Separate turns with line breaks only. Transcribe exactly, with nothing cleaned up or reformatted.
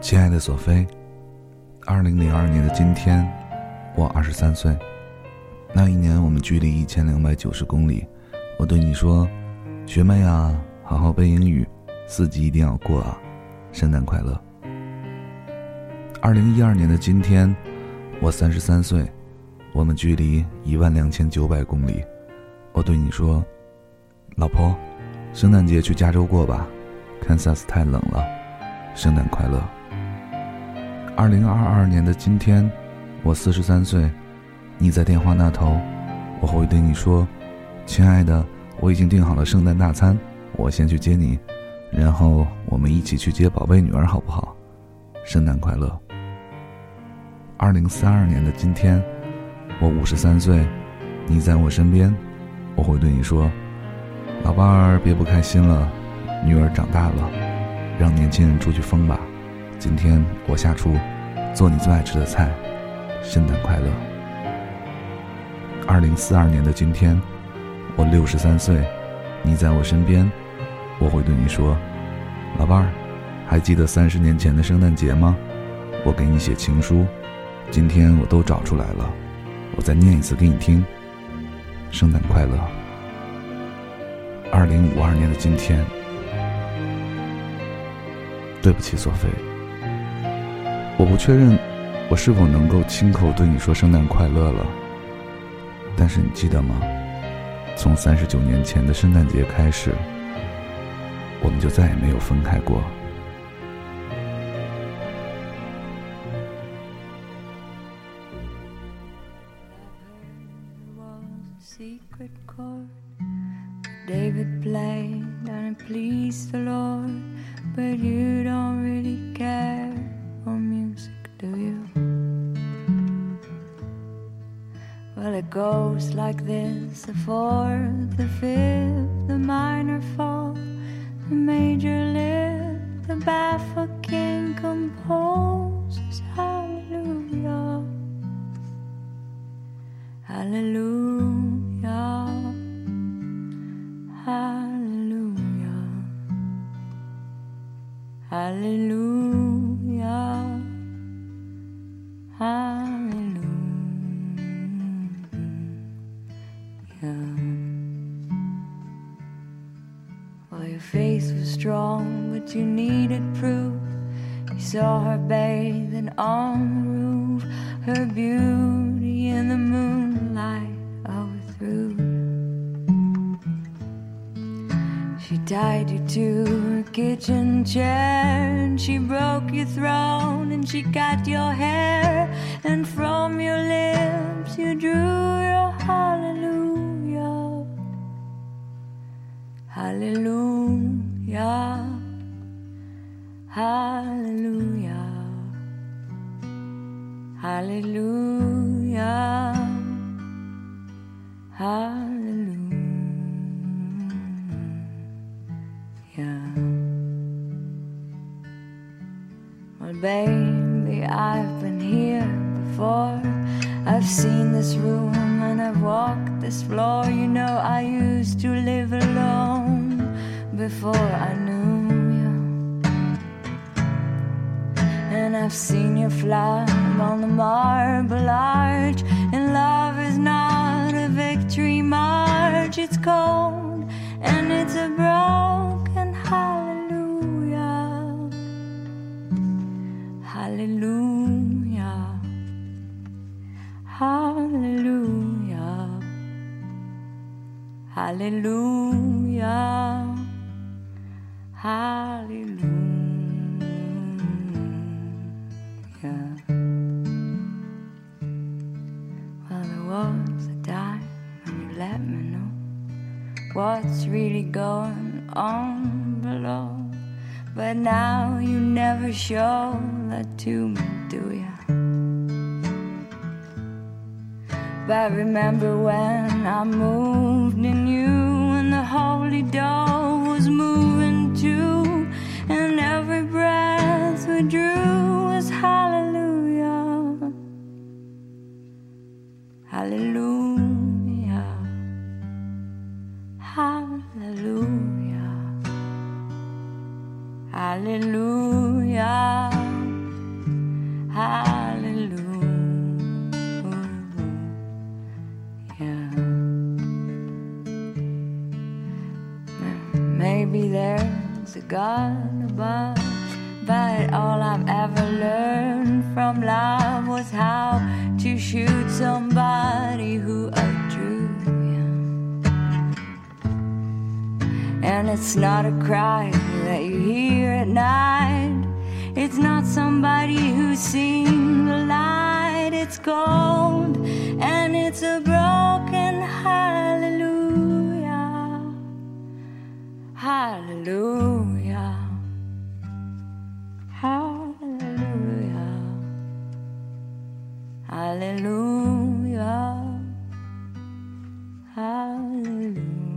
亲爱的索菲，二零零二年的今天，我二十三岁。那一年我们距离一千两百九十公里，我对你说，学妹啊，好好背英语，四级一定要过啊，圣诞快乐。二零一二年的今天，我三十三岁，我们距离一万两千九百公里，我对你说，老婆，圣诞节去加州过吧，堪萨斯太冷了，圣诞快乐。二零二二年的今天，我四十三岁，你在电话那头，我会对你说，亲爱的，我已经订好了圣诞大餐，我先去接你，然后我们一起去接宝贝女儿好不好？圣诞快乐。二零三二年的今天，我五十三岁，你在我身边，我会对你说，老伴儿别不开心了，女儿长大了，让年轻人出去疯吧，今天我下厨做你最爱吃的菜，圣诞快乐。二零四二年的今天，我六十三岁，你在我身边，我会对你说，老伴儿还记得三十年前的圣诞节吗？我给你写情书，今天我都找出来了，我再念一次给你听，圣诞快乐。二零五二年的今天，对不起索菲，我不确认我是否能够亲口对你说圣诞快乐了，但是你记得吗？从三十九年前的圣诞节开始，我们就再也没有分开过。
Secret chord David played and it pleased the Lord, but you don't really care for music, do you? Well, it goes like this: the fourth, the fifth, the minor fall, the major lift, the baffled king composes hallelujah, hallelujah, hallelujah, hallelujah, hallelujah. Well, your face was strong, but you needed proof. You saw her bathing on the roof, her beauty in the moonlight overthrew. She tied you to her kitchen chair, and she broke your throne, and she cut your hair, and from your lips you drew your hallelujah, hallelujah, hallelujah, hallelujah, hallelujah. Well, baby, I've been here before. I've seen this room and I've walked this floor. You know, I used to live alone before I knew you. And I've seen you fly on the marble arch. And love is not a victory march. It's cold and it's a broken hallelujah, hallelujah, hallelujah, hallelujah, hallelujah. Well, there was a time when you let me know what's really going on below, but now you never show that to me, do ya? But remember when I moved in you, and the holy dove was moving too, and every breath we drew was hallelujah, hallelujah, hallelujah, hallelujah, maybe there's a God above, but all I've ever learned from love was how to shoot somebody who outdrew you. And it's not a cry that you hear at night, it's not somebody who's seen the light. It's cold and it's a broken hallelujah, hallelujah, hallelujah, hallelujah, hallelujah.